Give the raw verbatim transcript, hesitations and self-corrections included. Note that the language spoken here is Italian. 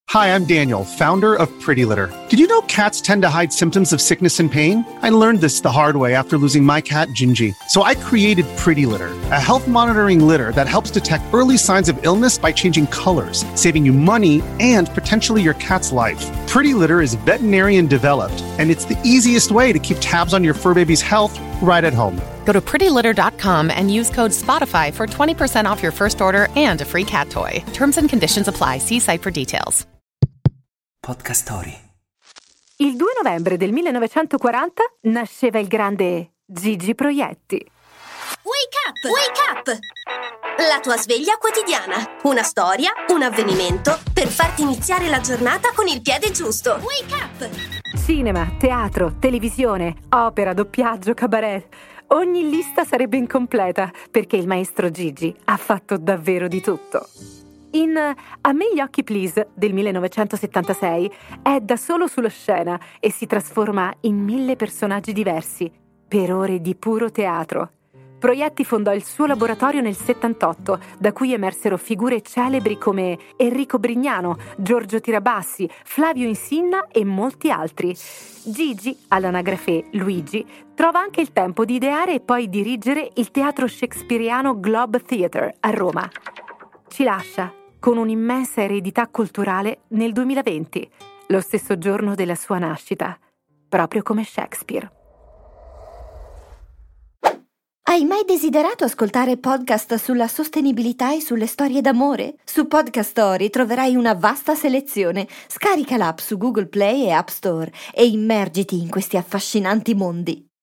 Hi, I'm Daniel, founder of Pretty Litter. Did you know cats tend to hide symptoms of sickness and pain? I learned this the hard way after losing my cat, Gingy. So I created Pretty Litter, a health monitoring litter that helps detect early signs of illness by changing colors, saving you money and potentially your cat's life. Pretty Litter is veterinarian developed, and it's the easiest way to keep tabs on your fur baby's health right at home. Go to pretty litter dot com and use code Spotify for twenty percent off your first order and a free cat toy. Terms and conditions apply. See site for details. Podcast Story. Il due novembre del millenovecentoquaranta nasceva il grande Gigi Proietti. Wake up! Wake up! La tua sveglia quotidiana. Una storia, un avvenimento per farti iniziare la giornata con il piede giusto. Wake up! Cinema, teatro, televisione, opera, doppiaggio, cabaret. Ogni lista sarebbe incompleta perché il maestro Gigi ha fatto davvero di tutto. In A me gli occhi please del millenovecentosettantasei è da solo sullo scena e si trasforma in mille personaggi diversi per ore di puro teatro. Proietti fondò il suo laboratorio nel settantotto, da cui emersero figure celebri come Enrico Brignano, Giorgio Tirabassi, Flavio Insinna e molti altri. Gigi, all'anagrafe Luigi, trova anche il tempo di ideare e poi dirigere il teatro shakespeariano Globe Theatre a Roma. Ci lascia con un'immensa eredità culturale nel duemilaventi, lo stesso giorno della sua nascita, proprio come Shakespeare. Hai mai desiderato ascoltare podcast sulla sostenibilità e sulle storie d'amore? Su Podcast Story troverai una vasta selezione. Scarica l'app su Google Play e App Store e immergiti in questi affascinanti mondi.